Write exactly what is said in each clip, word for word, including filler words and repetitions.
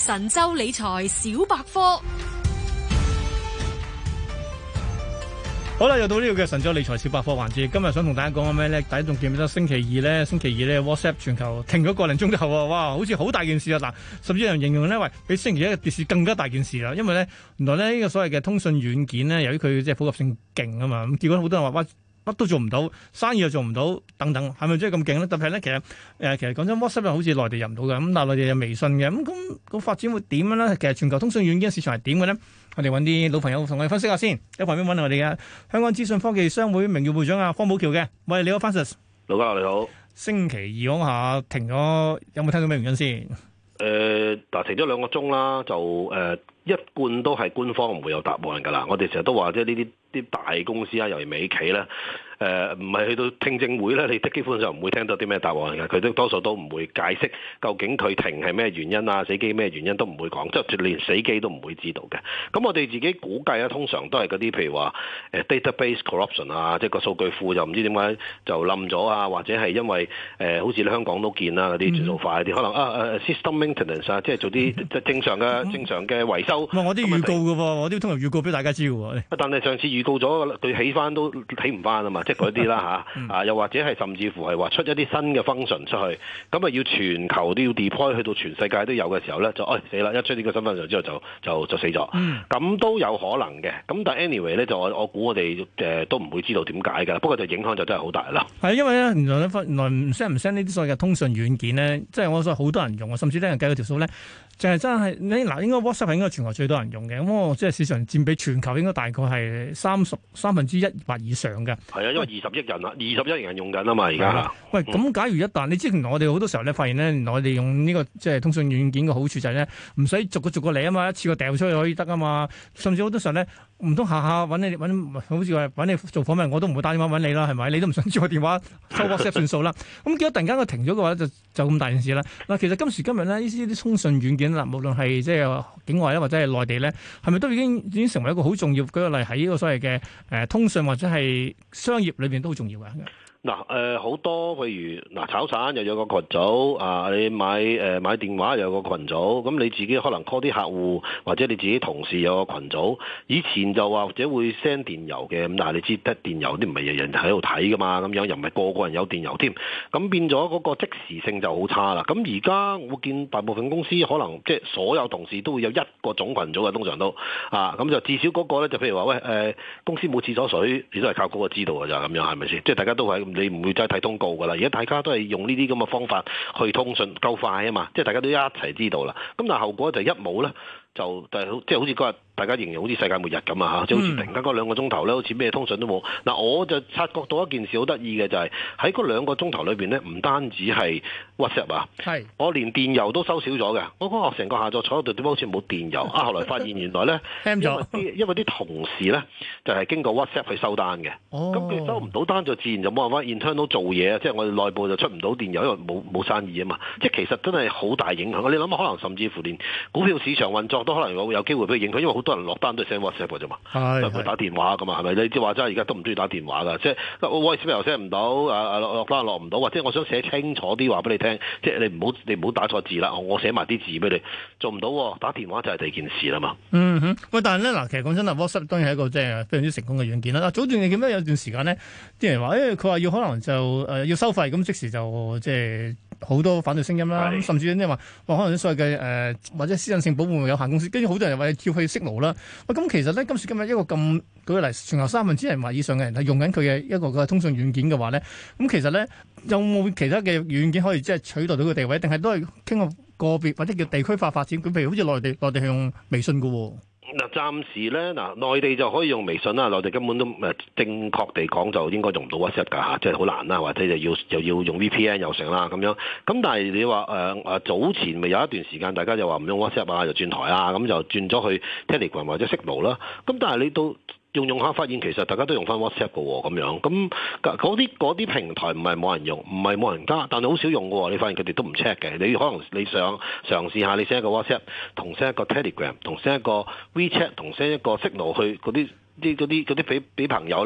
神州理財小百科。 好啦，又到呢個嘅神州理財小百科環節。今日想同大家講緊咩咧？大家仲記唔記得星期二咧？星期二咧 WhatsApp 全球停咗個零鐘之後啊，哇，好似好大件事啊！嗱，甚至有人形容咧，喂，比星期一嘅跌市更加大件事啦。因為咧，原來咧呢、這個所謂嘅通訊軟件咧，由於佢即係普及性勁啊嘛，咁結果好多人話哇，乜都做唔到，生意又做唔到，等等，係咪真係咁勁咧？特別係咧，其實誒、呃，其實講真 WhatsApp 又好似內地入唔到嘅，咁但係內地有微信嘅，咁咁個發展會點樣咧？其實全球通訊軟件市場係點嘅咧？我哋揾啲老朋友同我哋分析下先。喺旁邊揾我哋嘅香港資訊科技商會名譽會長啊方保僑嘅，喂，你好 Francis。 老家你好。 星期二講下停咗，有冇聽到咩原因先？ 誒，嗱，停咗兩個鐘啦，就誒、呃、一貫都係官方唔會有答案㗎啦。我哋成日都話，即係呢啲啲大公司啊，尤其美企咧。誒唔係去到聽證會咧，你基本上唔會聽到啲咩答案嘅，佢都多數都唔會解釋究竟佢停係咩原因啊，死機咩原因都唔會講，即係連死機都唔會知道嘅。咁我哋自己估計咧，通常都係嗰啲譬如話誒 database corruption 啊，即係個數據庫就唔知點解就冧咗啊，或者係因為誒、呃、好似你香港都見啦嗰啲轉數快啲，可能啊誒 system maintenance 啊，即係做啲即係正常嘅正常嘅維修。 我啲預告嘅喎，我啲通常預告俾大家知嘅喎。 但係上次預告咗，佢起翻都起唔翻啊嘛。即係嗰啲啦嚇，啊又或者係甚至乎係話出一啲新嘅 function 出去，咁啊要全球都要 deploy 去到全世界都有嘅時候咧，就哎死啦！一出呢個新 function 之後就就就死咗，咁、嗯、都有可能嘅。咁但係 anyway 咧，就我我估我哋誒都唔會知道點解㗎。不過就影響就真係好大啦。係因為咧原來咧原來唔 send 唔 send 呢啲所謂嘅通訊軟件咧，即係我所好多人用啊，甚至咧人計嗰條數咧，就係真係你嗱應該 WhatsApp 係應該全球最多人用嘅，咁我即係市場佔比全球應該大概係三十三分之一或以上嘅。 係啊，因為二十億人啦，二十億人用緊啊嘛，而家嚇。 喂，咁假如一旦你知原來我哋好多時候咧發現咧，原來我哋用呢個即係通訊軟件嘅好處就係咧，唔使逐個逐個嚟啊嘛，一次過掉出去可以得啊嘛。甚至好多時候咧，唔通下下揾你揾，好似話揾你做訪問，我都唔會打電話揾你啦，係咪？你都唔想知我電話收 WhatsApp 算數啦。咁結果突然間佢停咗嘅話，就就咁大件事啦。嗱，其實今時今日咧，呢啲啲通訊軟件啦，無論係即係境外咧，或者係內地咧，係咪都已經已經成為一個好重要？舉個例喺呢個所謂嘅誒、呃、通訊或者係商業裏邊都好重要嘅。 嗱誒好多譬如嗱炒散又有個群組啊，你買誒、呃、買電話又有個群組，咁你自己可能 call 啲客戶或者你自己同事有個群組。以前就話或者會 send 電郵嘅，咁但係你知得電郵啲唔係人人喺度睇噶嘛，咁樣又唔係個個人有電郵添，咁變咗嗰個即時性就好差啦。咁而家我見大部分公司可能即係所有同事都會有一個總群組嘅，通常都啊，咁就至少嗰個咧就譬如話喂誒、呃、公司冇廁所水，你都係靠嗰個知道㗎咋，咁樣係咪先？即係大家都係。你唔會再睇通告㗎啦，而家大家都係用呢啲咁嘅方法去通訊，夠快啊嘛，即係大家都一齊知道啦。咁但係後果就一冇咧，就就係即係好似嗰日大家形容好似世界末日咁啊嚇，即係好似突然間嗰兩個鐘頭咧，好似咩通訊都冇。嗱，我就察覺到一件事好得意嘅就係喺嗰兩個鐘頭裏邊咧，唔單止係 WhatsApp 啊，係我連電郵都收少咗嘅。我嗰個成個下晝坐喺度點解好似冇電郵啊？後來發現原來咧，因為啲因為啲同事咧就係經過 WhatsApp 去收單嘅，咁佢收唔到單就自然就冇辦法 internal 做嘢啊，即係我哋內部就出唔到電郵，因為冇冇生意啊嘛。即係其實真係好大影響。你諗下，可能甚至乎連股票市場運作都可能有有機會俾佢影響，因為好多人落單都係 send WhatsApp 嘅啫嘛，唔會打電話噶嘛，係咪？你即係話齋而家都唔中意打電話㗎，即係 voice 又 send 唔到，啊落落單落唔到，或者我想寫清楚啲話俾你聽，即係你唔好你唔好打錯字啦，我寫埋啲字俾你，做唔到，打電話就係第二件事啦嘛。 嗯哼，喂，但係咧嗱，其實講真啦 WhatsApp 當然係一個即係非常之成功嘅軟件啦。嗱，早段你記唔記得有段時間咧，啲人話誒，佢、欸、話要可能就誒、呃、要收費，咁即時就即係好多反對聲音啦。甚至啲人話話可能啲所謂嘅誒、呃、或者私隱性保護有限公司，跟住好多人話要跳去 Signal 啦。喂，咁其實咧今時今日一個咁舉個例，全球三分之一人或以上嘅人係用緊佢嘅一個嘅通訊軟件嘅話咧，咁其實咧有冇其他嘅軟件可以即係取代到個地位，定係都係傾個個別或者叫地區化發展？咁譬如好似內地，內地係用微信㗎喎。 嗱，暫時咧，嗱，內地就可以用微信啦，內地根本都誒正確地講就應該用唔到 WhatsApp 㗎嚇，即係好難啦，或者就要又要用 V P N 又成啦咁樣。咁但係你話誒誒早前咪有一段時間大家就話唔用 WhatsApp 啊，就轉台啊，咁就轉咗去 Telegram 或者 Signal 啦。咁但係你到用用下發現其實大家都用翻 WhatsApp 嘅喎，咁樣咁嗰啲嗰啲平台唔係冇人用，唔係冇人加，但係好少用嘅喎。你發現佢哋都唔 check 嘅。你可能你想嘗試下，你 send 一個 WhatsApp，同 send 一個 Telegram，同 send 一個 WeChat，同 send 一個 Signal 去嗰啲啲嗰啲嗰啲俾俾朋友啦。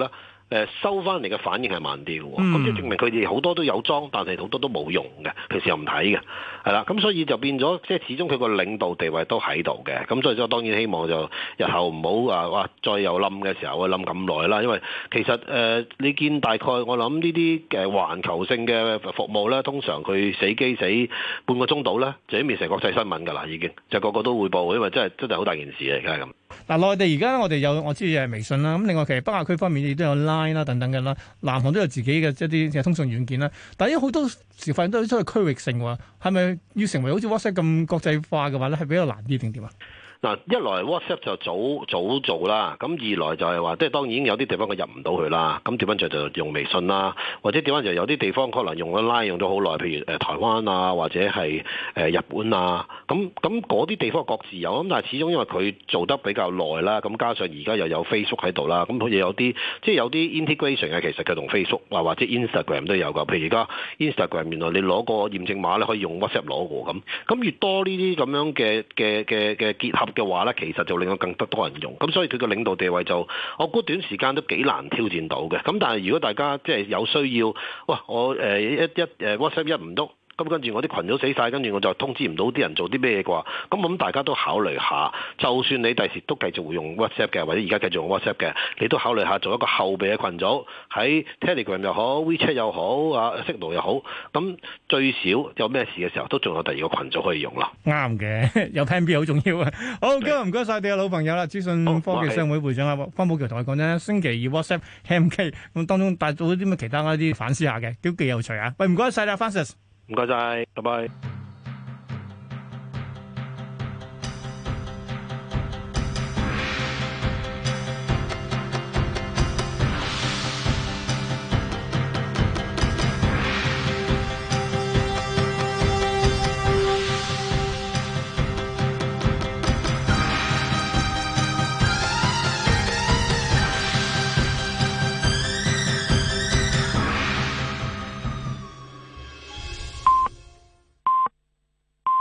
誒收翻嚟嘅反應係慢啲嘅喎，咁、 嗯、 即係證明佢哋好多都有裝，但係好多都冇用嘅，平時又唔睇嘅，係啦，咁所以就變咗，即係始終佢個領導地位都喺度嘅，咁所以就當然希望就日後唔好啊，哇，再有冧嘅時候會冧咁耐啦，因為其實誒、呃、你見大概我諗呢啲嘅環球性嘅服務咧，通常佢死機死半個鐘度咧，就已經變成國際新聞㗎啦，已經就個個都會報，因為真係真係好大件事嚟嘅咁。 嗱，內地而家我哋有我知係微信啦，咁另外其實北亞區方面亦都有 Line 啦等等嘅啦，南韓都有自己嘅一啲嘅通訊軟件啦。但係有好多時發現都係區域性喎，係咪要成為好似 WhatsApp 咁國際化嘅話咧，係比較難啲定點啊？嗱， 一來 WhatsApp 就早早做啦，咁二來就係話，即係當然有啲地方佢入唔到去啦，咁調翻轉就用微信啦，或者調翻轉有啲地方可能用咗 Line 用咗好耐，譬如誒台灣啊，或者係誒日本啊，咁咁嗰啲地方各自有，咁但係始終因為佢做得比較耐啦，咁加上而家又有 Facebook 喺度啦，咁好似有啲即係有啲 integration 嘅，其實佢同 Facebook 啊或者 Instagram 都有㗎，譬如而家 Instagram 原來你攞個驗證碼咧可以用 WhatsApp 攞㗎咁，咁越多呢啲咁樣嘅嘅嘅嘅結合嘅話咧，其實就令到更多多人用，咁所以佢個領導地位就，我估短時間都幾難挑戰到嘅。咁但係如果大家即係有需要，哇，我誒、呃、一一誒 WhatsApp 一唔喐。咁跟住我啲群組死晒，跟住我就通知唔到啲人做啲咩嘢啩？咁我諗大家都考慮下，就算你第時都繼續會用 WhatsApp 嘅，或者而家繼續用 WhatsApp 嘅，你都考慮下做一個後備嘅群組，喺 Telegram 又好 WeChat 又好啊 Signal 又好，咁最少有咩事嘅時候都仲有第二個群組可以用咯。 啱嘅，有 Plan B 好重要啊！好，今日唔該晒你嘅老朋友啦，資訊科技商會會長啊方保僑同我講咧，星期二 WhatsApp M K 咁當中帶到啲咩其他一啲反思下嘅，都幾有趣啊！喂，唔該晒啦 Francis。 唔該晒，拜拜。